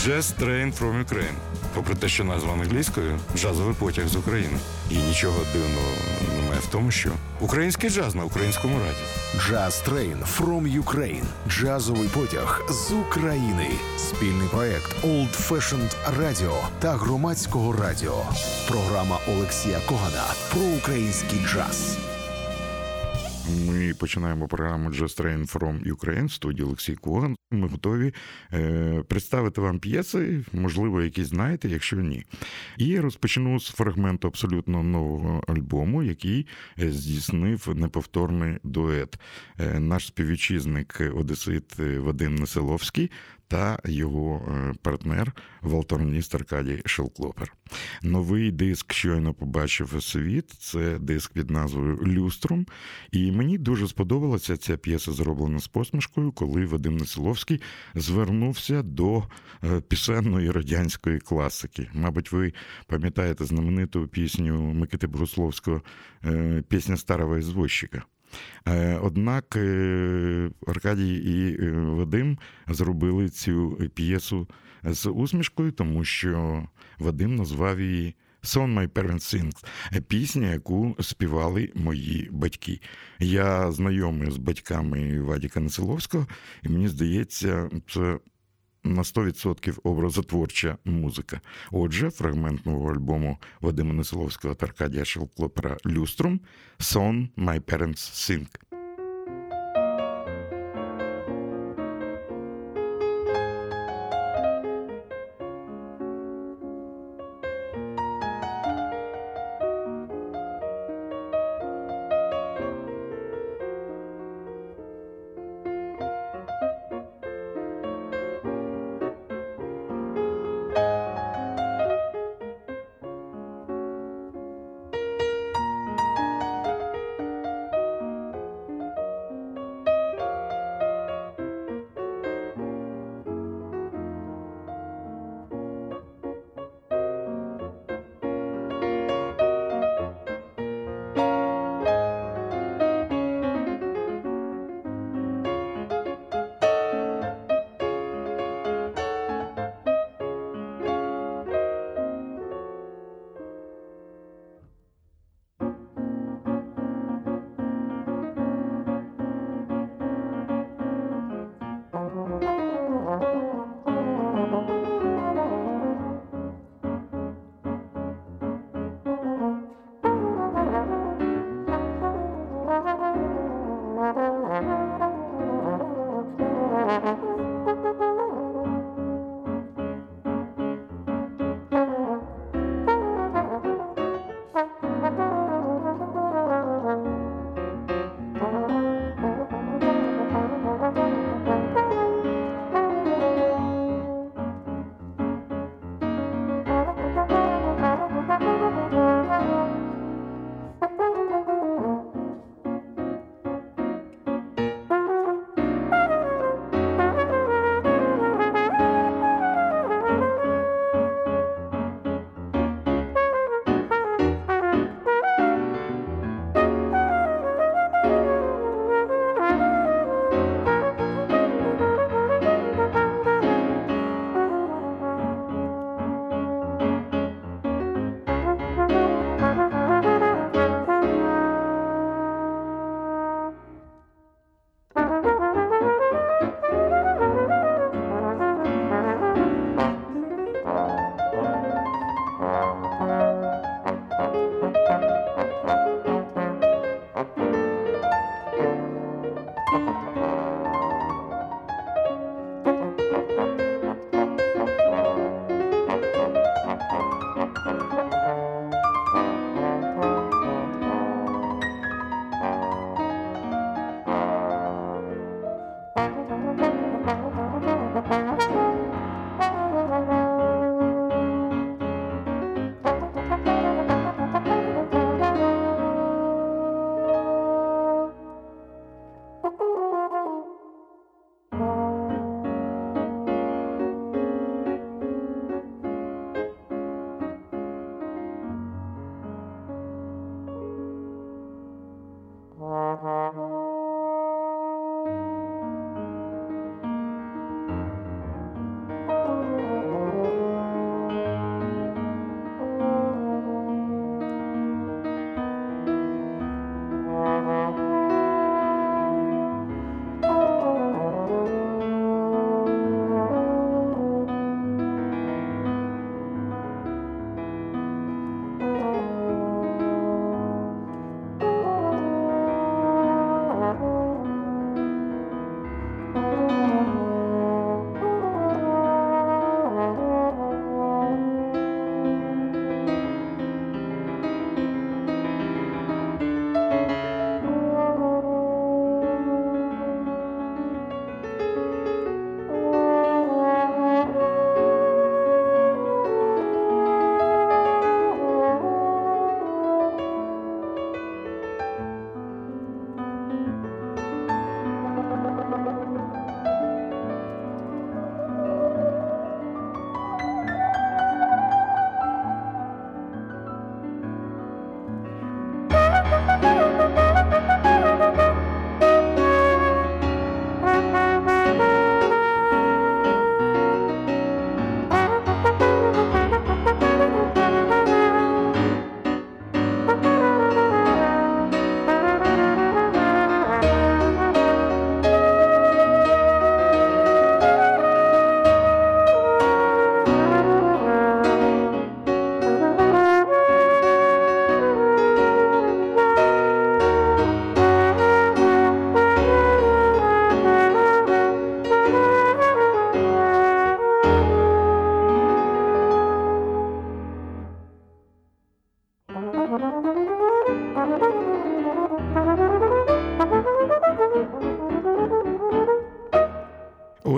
Jazz Train from Ukraine. Попри те, що назва англійською «Джазовий потяг з України». І нічого дивного немає в тому, що український джаз на українському радіо. Jazz Train from Ukraine. Джазовий потяг з України. Спільний проект Old Fashioned Radio та Громадського радіо. Програма Олексія Когана про український джаз. Ми починаємо програму Jazz Train from Ukraine в студії Олексій Коган. Ми готові представити вам п'єси, можливо, які знаєте, якщо ні. І розпочну з фрагменту абсолютно нового альбому, який здійснив неповторний дует. Наш співвітчизник одесит Вадим Несиловський та його партнер, валторніст Аркадій Шелклопер. Новий диск щойно побачив світ, це диск під назвою «Люструм». І мені дуже сподобалася ця п'єса, зроблена з посмішкою, коли Вадим Несиловський звернувся до пісенної радянської класики. Мабуть, ви пам'ятаєте знамениту пісню Микити Богусловського «Пісня старого извозчика». Однак Аркадій і Вадим зробили цю п'єсу з усмішкою, тому що Вадим назвав її «Song My Parents Sing» – пісня, яку співали мої батьки. Я знайомий з батьками Вадіка Несиловського, і мені здається, це на 100% образотворча музика. Отже, фрагмент нового альбому Вадима Несиловського та Аркадія Шелклопера «Люструм» «Song My Parents Sing».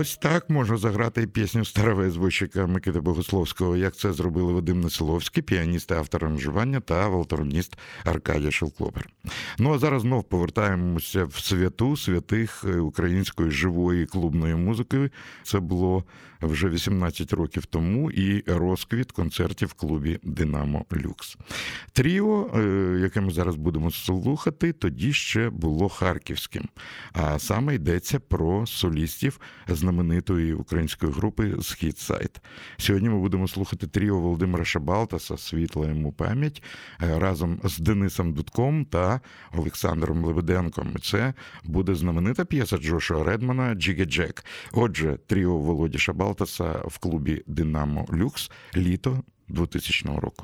ось так можна заграти і пісню старого звучика Микити Богословського, як це зробили Вадим Несиловський, піаніст і автор аранжування, та валторнист Аркадій Шелклопер. Ну а зараз знов повертаємося в святу святих української живої клубної музики. Це було вже 18 років тому і розквіт концертів в клубі «Динамо Люкс». Тріо, яке ми зараз будемо слухати, тоді ще було харківським. А саме йдеться про солістів знаменитої української групи «Східсайд». Сьогодні ми будемо слухати тріо Володимира Шабалтаса, світла йому пам'ять, разом з Денисом Дудком та Олександром Лебеденком. Це буде знаменита п'єса Джошуа Редмана «Джигі Джек». Отже, тріо Володі Шабалтаса в клубі «Динамо Люкс» літо 2000 року.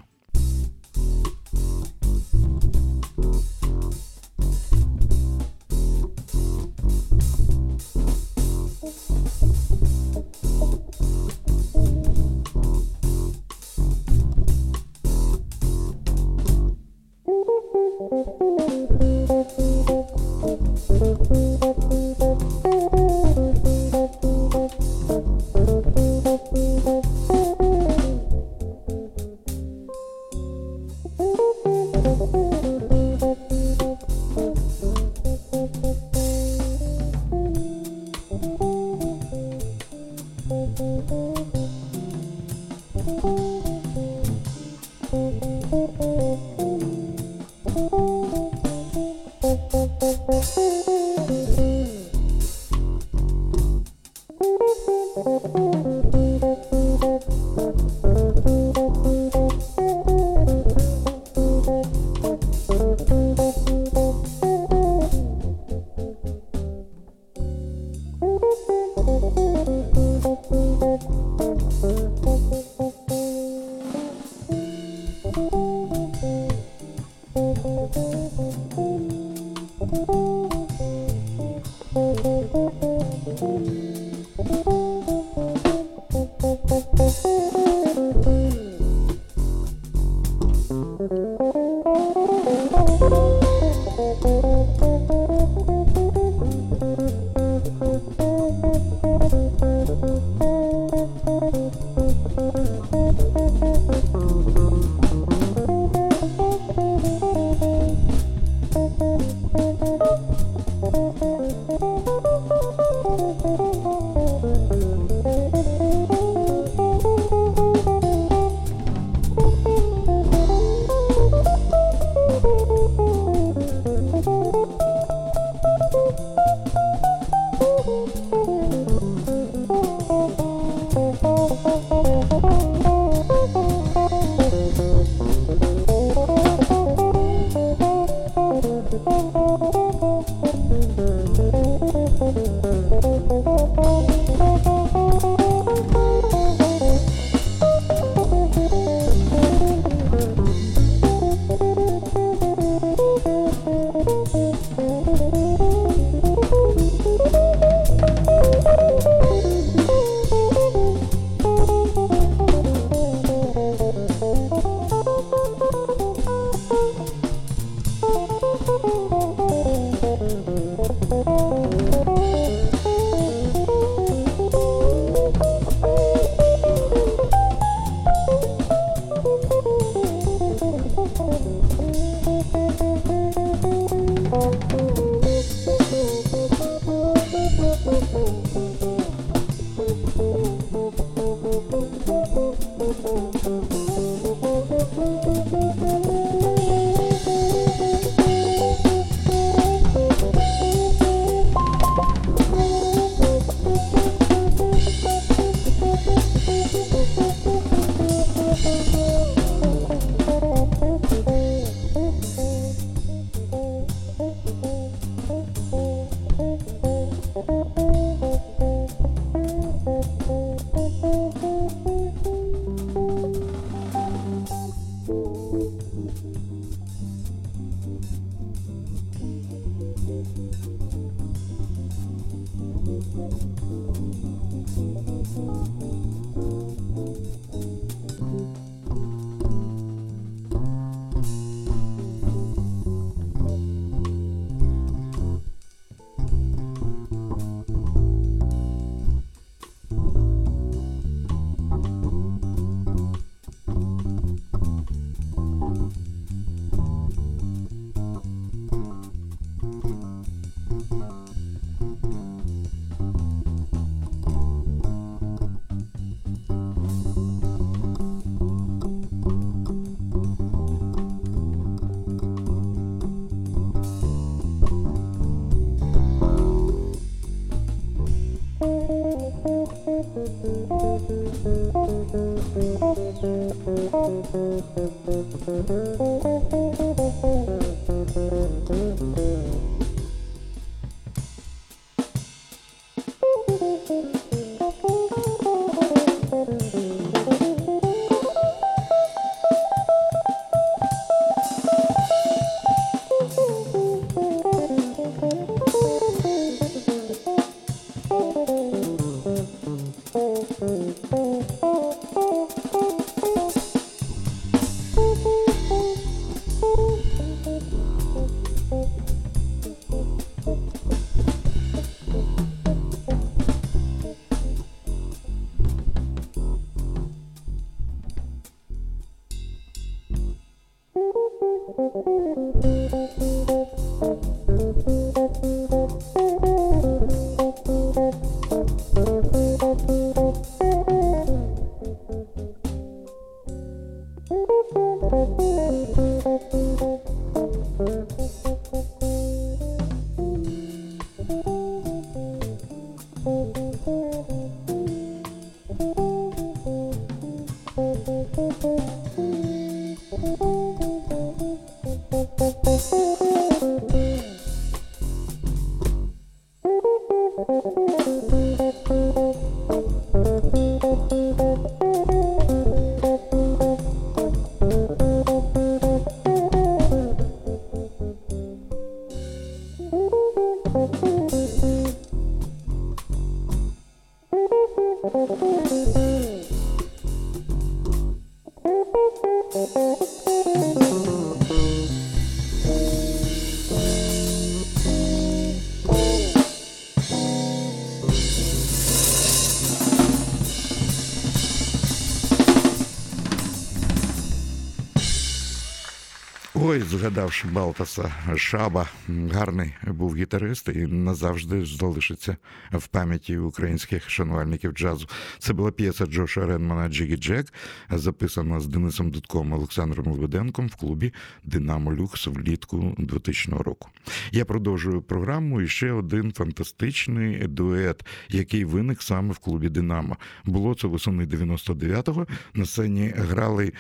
Ой, згадавши Балтаса Шаба, гарний був гітарист і назавжди залишиться в пам'яті українських шанувальників джазу. Це була п'єса Джоша Ренмана «Джигі Джек», записана з Денисом Дудком і Олександром Лебеденком в клубі «Динамо Люкс» влітку 2000 року. Я продовжую програму і ще один фантастичний дует, який виник саме в клубі «Динамо». Було це восени 99-го. На сцені грали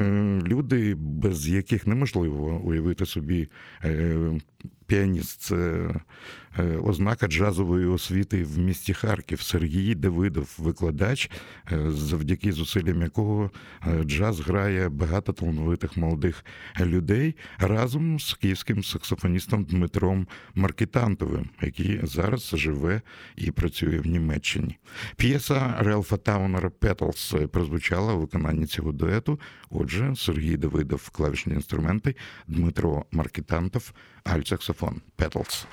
люди, без яких неможливо уявити собі піаніст. Це ознака джазової освіти в місті Харків. Сергій Давидов, викладач, завдяки зусиллям якого джаз грає багато талановитих молодих людей, разом з київським саксофоністом Дмитром Маркітантовим, який зараз живе і працює в Німеччині. П'єса Релфа Таунера «Petals» прозвучала у виконанні цього дуету. Отже, Сергій Давидов – клавішні інструменти, Дмитро Маркітантов – альт-саксофон. «Petals».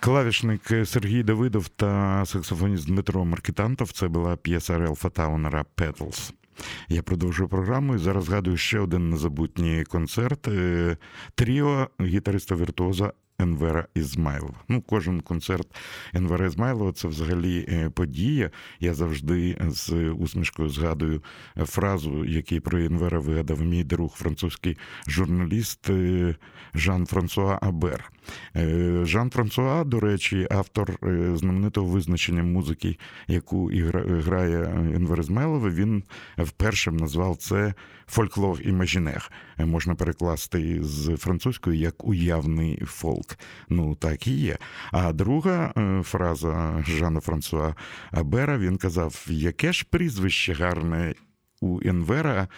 Клавішник Сергій Давидов та саксофоніст Дмитро Маркітантов. Це була п'єса Релфа Таунера «Petals». Я продовжую програму і зараз згадую ще один незабутній концерт. Тріо гітариста-віртуоза Енвера Ізмайлова. Кожен концерт Енвера Ізмайлова – це взагалі подія. Я завжди з усмішкою згадую фразу, яку про Енвера вигадав мій друг, французький журналіст Жан-Франсуа Абер. Жан-Франсуа, до речі, автор знаменитого визначення музики, яку грає Енвер Ізмайлов, він вперше назвав це фольклор імажінер. Можна перекласти з французької як уявний фолк. Так і є. А друга фраза Жана Франсуа Абера, він казав, яке ж прізвище гарне у Енвера,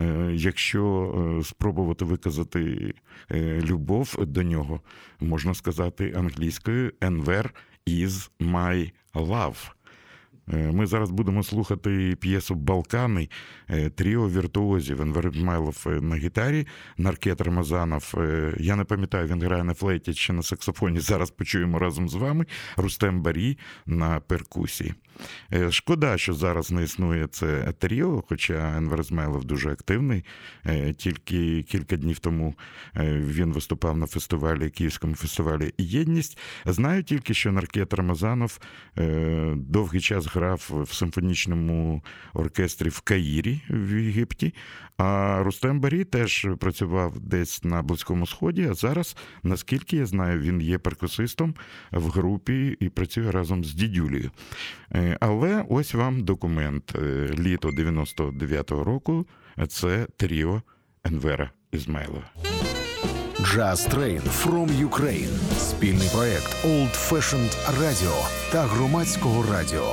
якщо спробувати виказати любов до нього, можна сказати англійською «Enver is my love». Ми зараз будемо слухати п'єсу «Балкани» тріо віртуозів. Енвер Ізмайлов на гітарі, Наркет Рамазанов, я не пам'ятаю, він грає на флейті чи на саксофоні, зараз почуємо разом з вами, Рустем Барі на перкусії. Шкода, що зараз не існує це тріо, хоча Енвер Ізмайлов дуже активний. Тільки кілька днів тому він виступав на фестивалі, Київському фестивалі «Єдність». Знаю тільки, що Наркет Рамазанов довгий час грав в симфонічному оркестрі в Каїрі в Єгипті, а Рустем Барі теж працював десь на Близькому Сході, а зараз, наскільки я знаю, він є перкусистом в групі і працює разом з Дідюлею. Але ось вам документ. Літо 99-го року – це тріо Енвера Ізмайлова. Jazz Train from Ukraine. Спільний проект Old Fashioned Radio та Громадського радіо.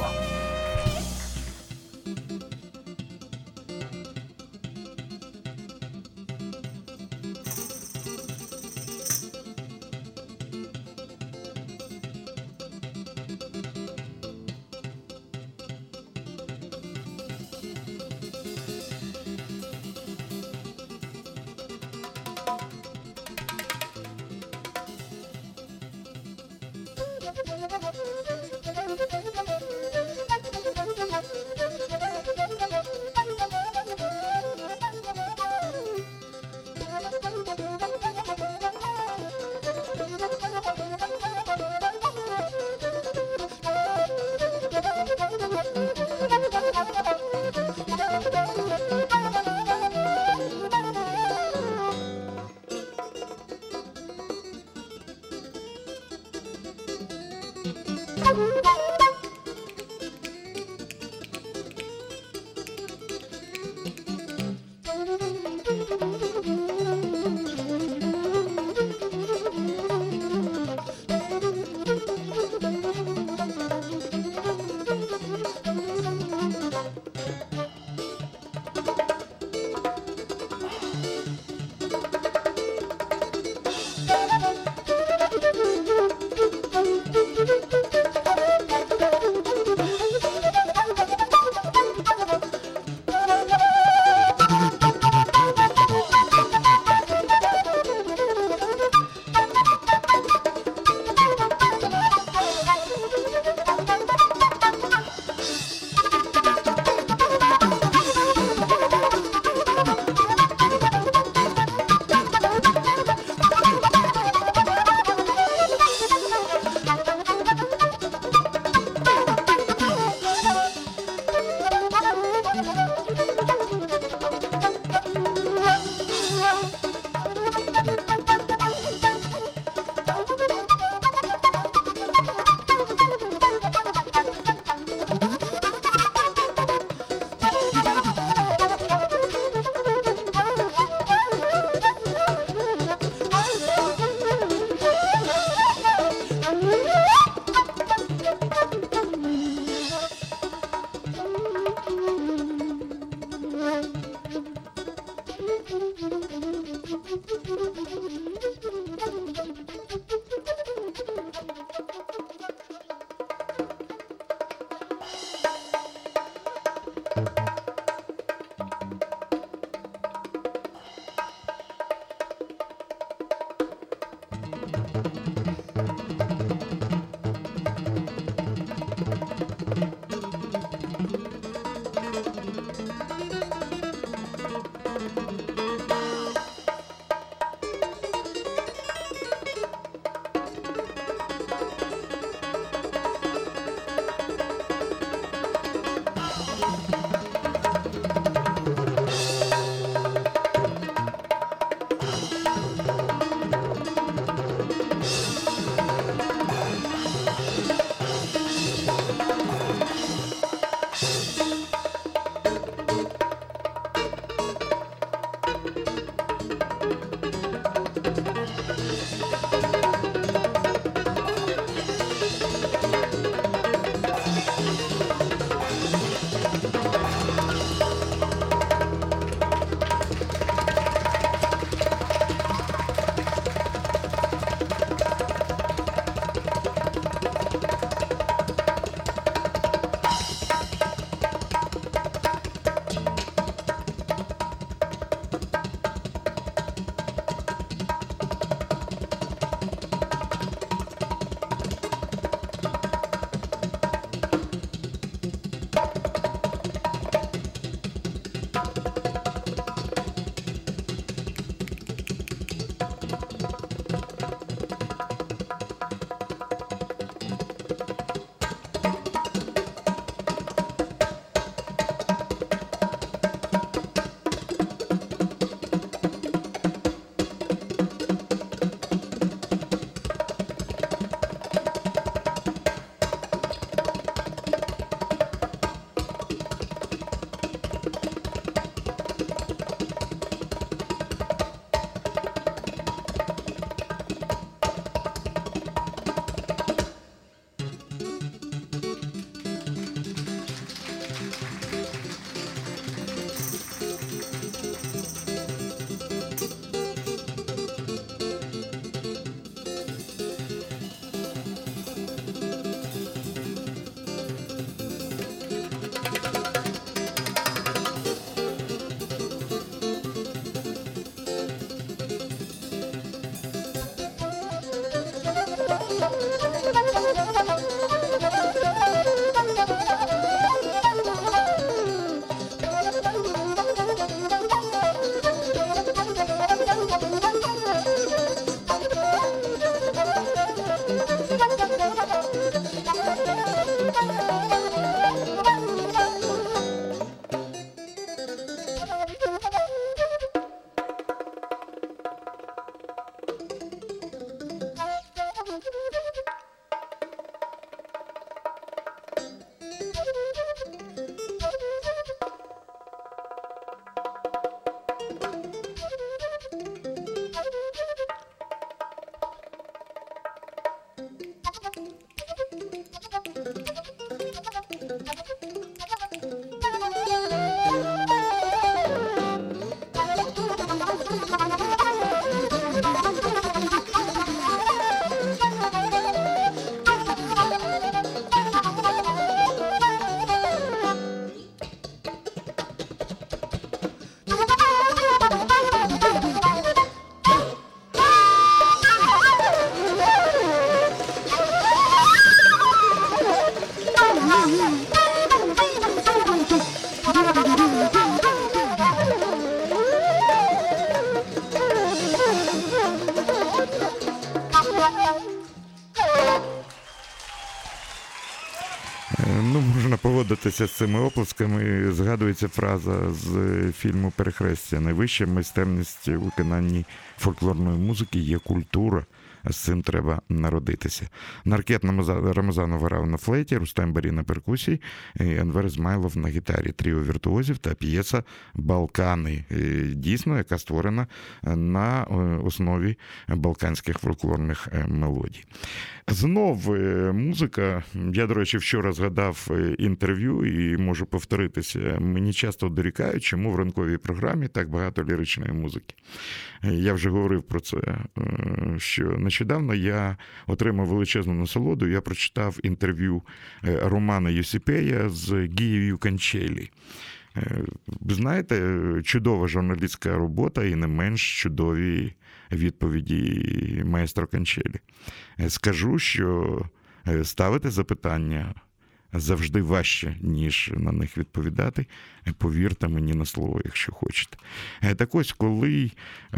Ну, можна погодитися з цими оплесками. Згадується фраза з фільму «Перехрестя». Найвища майстерність у виконанні фольклорної музики є культура. З цим треба народитися. Наркет Рамазанов грав на флейті, Рустем Барі на перкусії, Енвер Ізмайлов на гітарі. Тріо віртуозів та п'єса «Балкани». Дійсно, яка створена на основі балканських фольклорних мелодій. Знов музика. Я, до речі, вчора згадав інтерв'ю і можу повторитися. Мені часто дорікають, чому в ранковій програмі так багато ліричної музики. Я вже говорив про це, що нещодавно я отримав величезну насолоду. Я прочитав інтерв'ю Романа Єсіпея з Гією Канчелі. Ви знаєте, чудова журналістська робота і не менш чудові відповіді маестро Канчелі. Скажу, що ставити запитання завжди важче, ніж на них відповідати. Повірте мені на слово, якщо хочете. Так ось, коли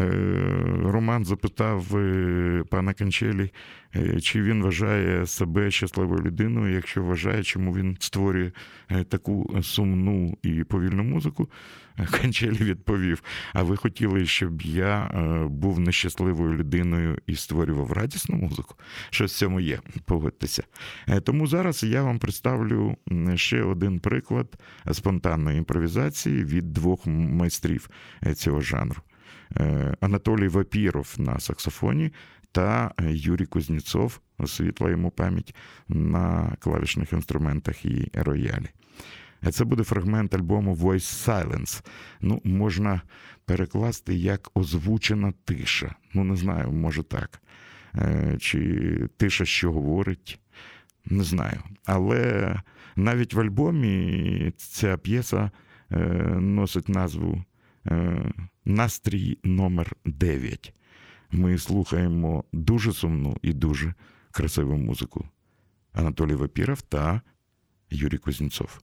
Роман запитав пана Канчелі, чи він вважає себе щасливою людиною, якщо вважає, чому він створює таку сумну і повільну музику, Канчелі відповів: а ви хотіли, щоб я був нещасливою людиною і створював радісну музику? Щось в цьому є, погодьтеся. Тому зараз я вам представлю ще один приклад спонтанної імпровізації від двох майстрів цього жанру. Анатолій Вапіров на саксофоні та Юрій Кузнєцов, світла йому пам'ять, на клавішних інструментах і роялі. Це буде фрагмент альбому Voice Silence. Ну, можна перекласти як озвучена тиша. Ну, не знаю, може так. Чи тиша, що говорить, не знаю. Але навіть в альбомі ця п'єса носить назву «Настрій номер 9». Ми слухаємо дуже сумну і дуже красиву музику. Анатолій Вапіров та Юрій Кузнєцов.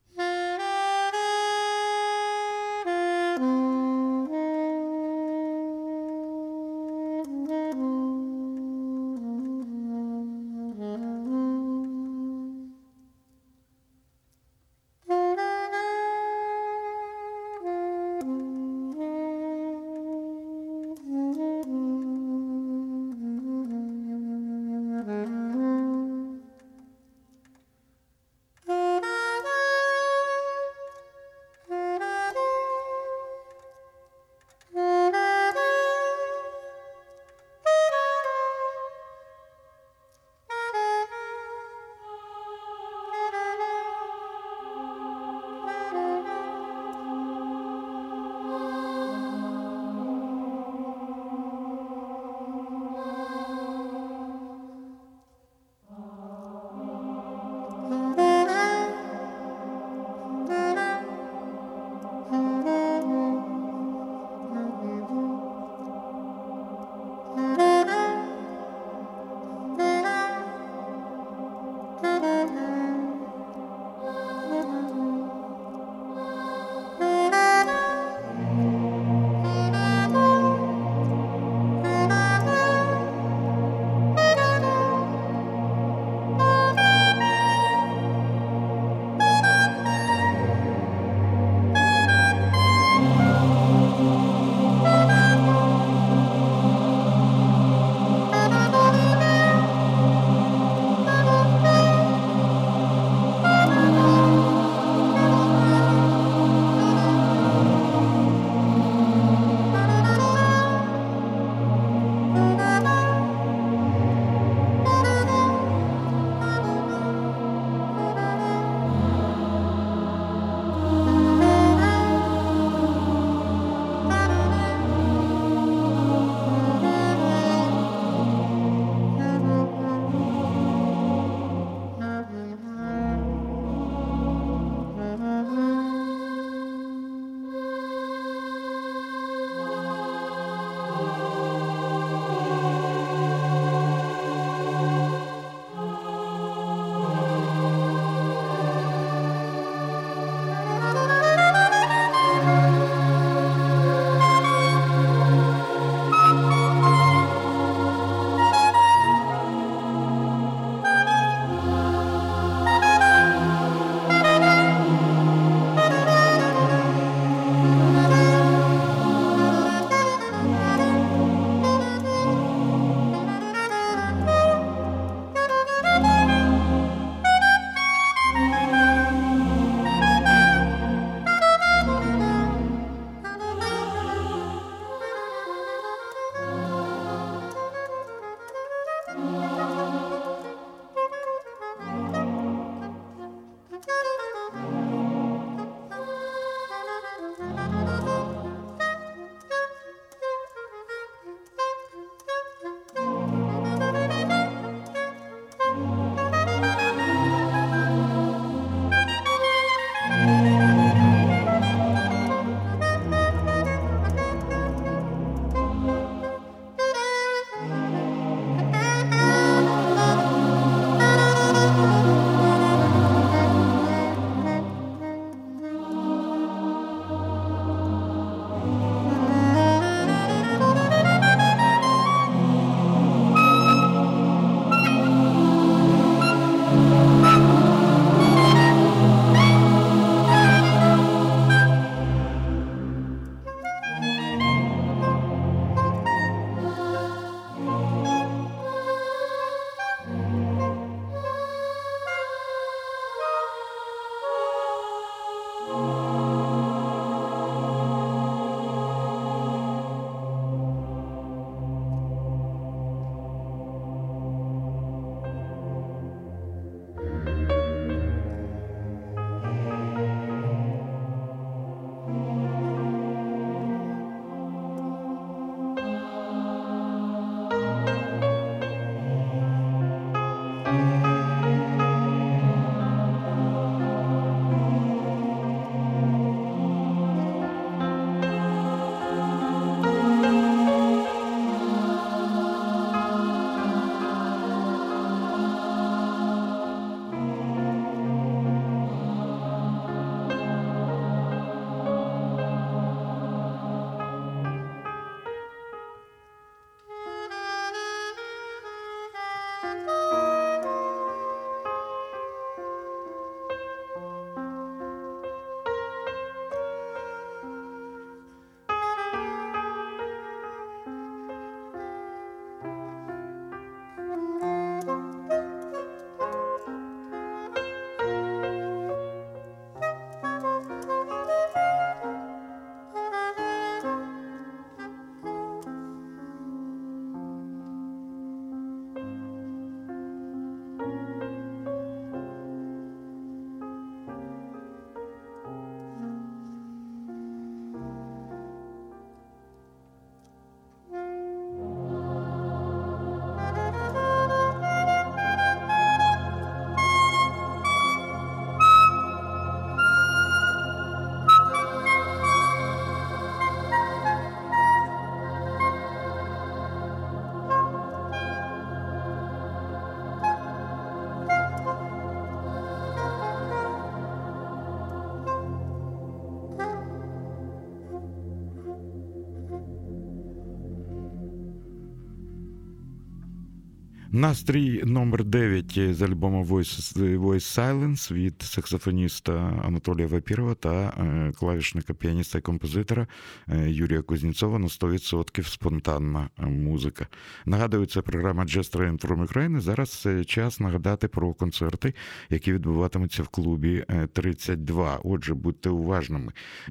Настрій номер 9 з альбому Voice Silence від саксофоніста Анатолія Вапірова та клавішника, піаніста і композитора Юрія Кузнєцова на 100% спонтанна музика. Нагадую, це програма Jazz Train from Ukraine. Зараз час нагадати про концерти, які відбуватимуться в клубі 32. Отже, будьте уважними.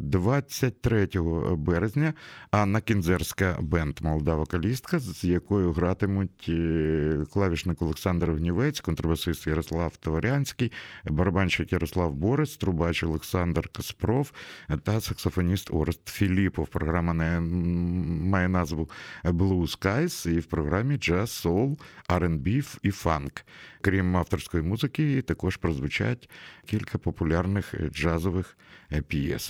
23 березня Анна Кінзерська бенд, молода вокалістка, з якою гратимуть клавішник Олександр Гнівець, контрабасист Ярослав Товарянський, барабанщик Ярослав Борис, трубач Олександр Каспров та саксофоніст Орест Філіпов. Програма має назву Blue Skies і в програмі Jazz, Soul, R&B і Funk. Крім авторської музики, також прозвучать кілька популярних джазових п'єс.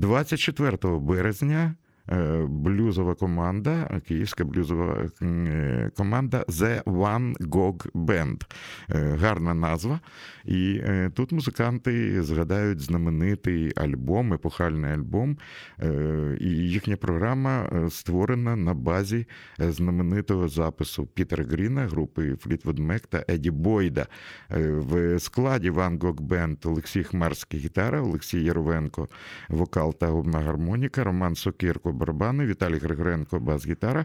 24 березня блюзова команда, київська блюзова команда The Van Gogh Band. Гарна назва. І тут музиканти згадають знаменитий альбом, епохальний альбом. І їхня програма створена на базі знаменитого запису Пітера Гріна, групи Fleetwood Mac та Еді Бойда. В складі Van Gogh Band Олексій Хмарський гітара, Олексій Яровенко вокал та губна гармоніка, Роман Сокирко барабани, Віталій Григоренко бас-гітара,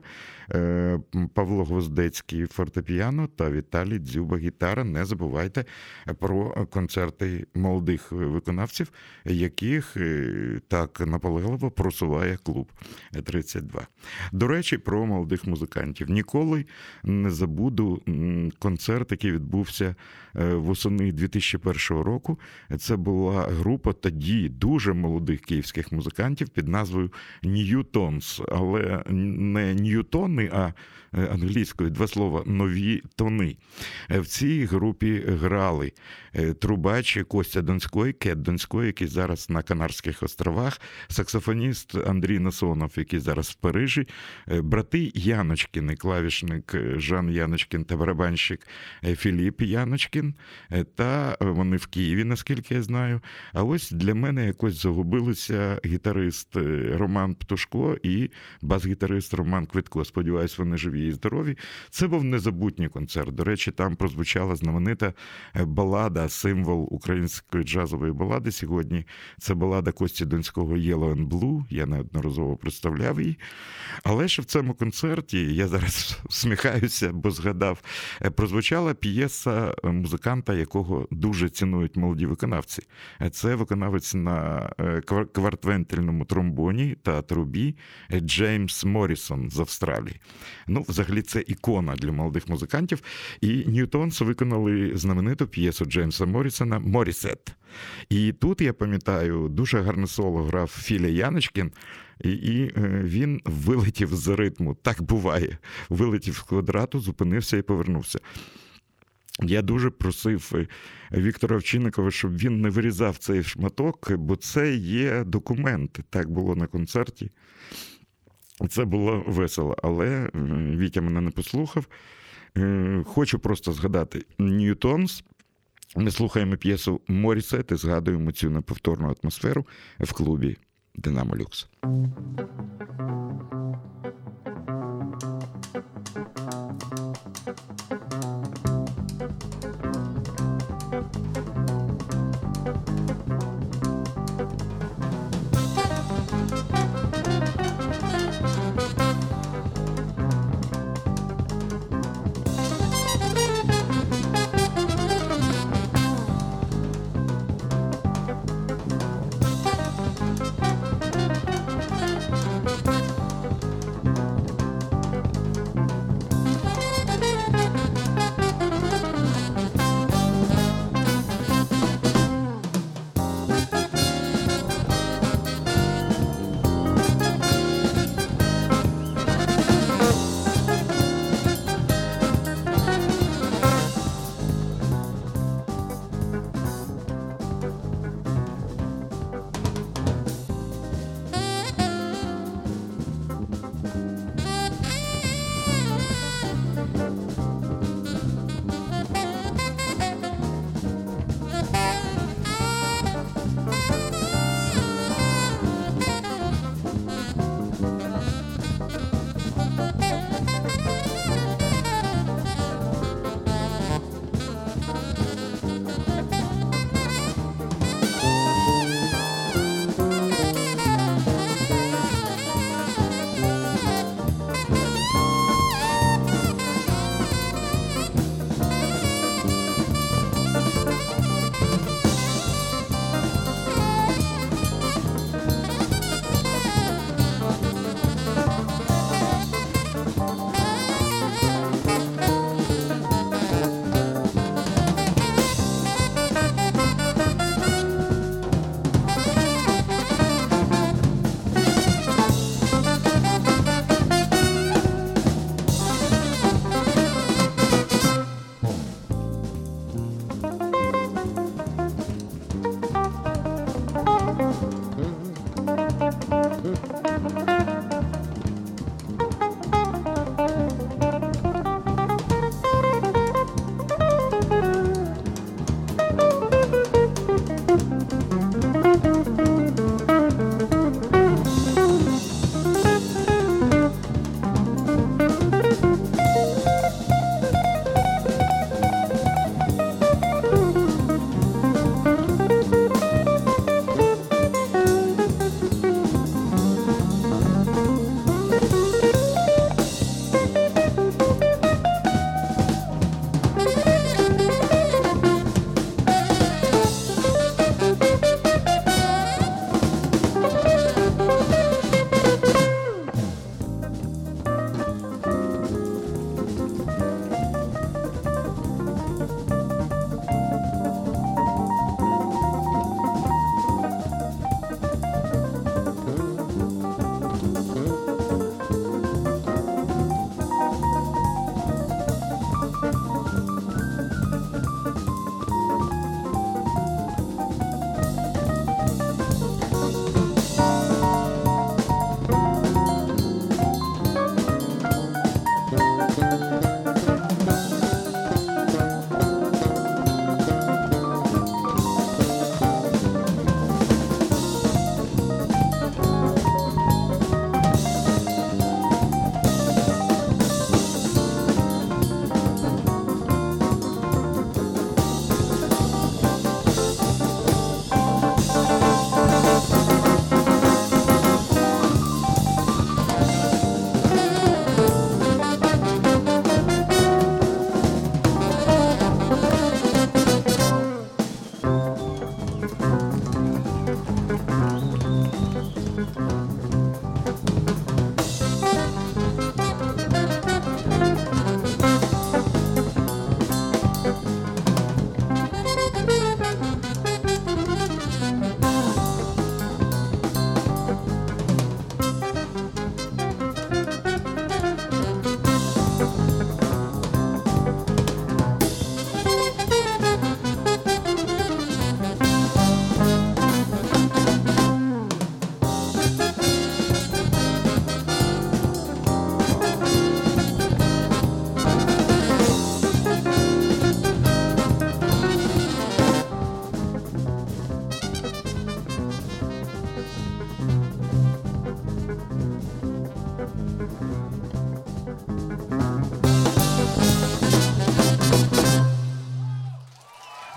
Павло Гвоздецький фортепіано та Віталій Дзюба гітара. Не забувайте про концерти молодих виконавців, яких так наполегливо просуває клуб 32. До речі, про молодих музикантів. Ніколи не забуду концерт, який відбувся восени 2001 року. Це була група тоді дуже молодих київських музикантів під назвою Newtons, але не Ньютони, а англійською два слова «нові тони». В цій групі грали трубач Костя Донський, Кет Донський, який зараз на Канарських островах, саксофоніст Андрій Насонов, який зараз в Парижі, брати Яночкіни, клавішник Жан Яночкін та барабанщик Філіп Яночкін, та вони в Києві, наскільки я знаю. А ось для мене якось загубилися гітарист Роман Птушко і бас-гітарист Роман Квитко. Сподіваюсь, вони живі і здорові. Це був незабутній концерт. До речі, там прозвучала знаменита балада, символ української джазової балади сьогодні. Це балада Кості Донського «Yellow and Blue». Я неодноразово представляв її. Але ж в цьому концерті, я зараз всміхаюся, бо згадав, прозвучала п'єса музиканта, якого дуже цінують молоді виконавці. Це виконавець на квартвентильному тромбоні та трубі Джеймс Моррісон з Австралії. Ну, взагалі, це ікона для молодих музикантів. І Ньютонс виконали знамениту п'єсу Джеймса Моррісона «Моррісет». І тут, я пам'ятаю, дуже гарне соло грав Філя Яночкін, і він вилетів з ритму. Так буває. Вилетів з квадрату, зупинився і повернувся. Я дуже просив Віктора Овчинникова, щоб він не вирізав цей шматок, бо це є документ. Так було на концерті. Це було весело, але Вітя мене не послухав. Хочу просто згадати Ньютонс. Ми слухаємо п'єсу «Моррісет» і згадуємо цю неповторну атмосферу в клубі «Динамо Люкс».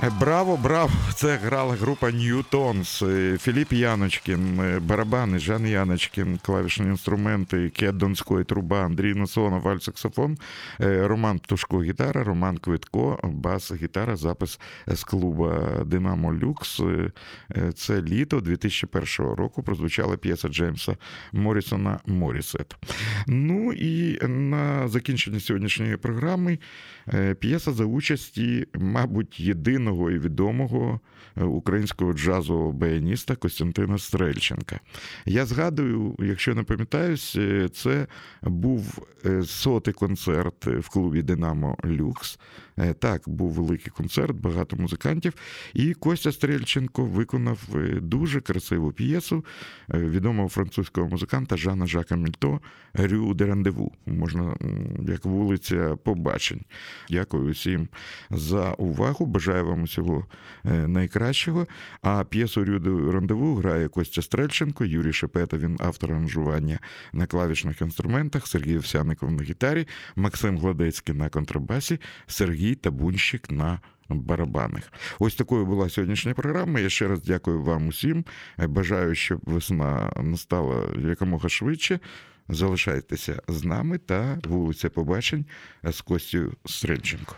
Браво, браво! Це грала група Ньютонс. Філіп Яночкін, барабани, Жан Яночкін, клавішні інструменти, Кет Донської, труба, Андрій Насонов, альт-саксофон, Роман Птушко, гітара, Роман Квитко, бас, гітара, запис з клубу «Динамо Люкс». Це літо 2001 року прозвучала п'єса Джеймса Моррісона «Моррісет». Ну і на закінчення сьогоднішньої програми п'єса за участі, мабуть, єдиного і відомого українського джазового баяніста Костянтина Стрельченка. Я згадую, якщо не пам'ятаюсь, це був 100-й концерт в клубі «Динамо Люкс». Так, був великий концерт, багато музикантів. І Костя Стрельченко виконав дуже красиву п'єсу відомого французького музиканта Жана Жака Мільто «Рю де Рандеву». Можна, як вулиця побачень. Дякую всім за увагу. Бажаю вам усього найкращого. А п'єсу «Рю де Рандеву» грає Костя Стрельченко, Юрій Шепета, він автор аранжування на клавішних інструментах, Сергій Овсяников на гітарі, Максим Гладецький на контрабасі, Сергій Табунщик на барабанах. Ось такою була сьогоднішня програма. Я ще раз дякую вам усім. Бажаю, щоб весна настала якомога швидше. Залишайтеся з нами та вулиця побачень з Костю Стрельченко.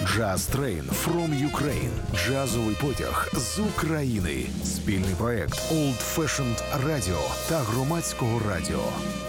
Jazz Train from Ukraine. Джазовий потяг з України. Спільний проект Old Fashioned Radio та Громадського радіо.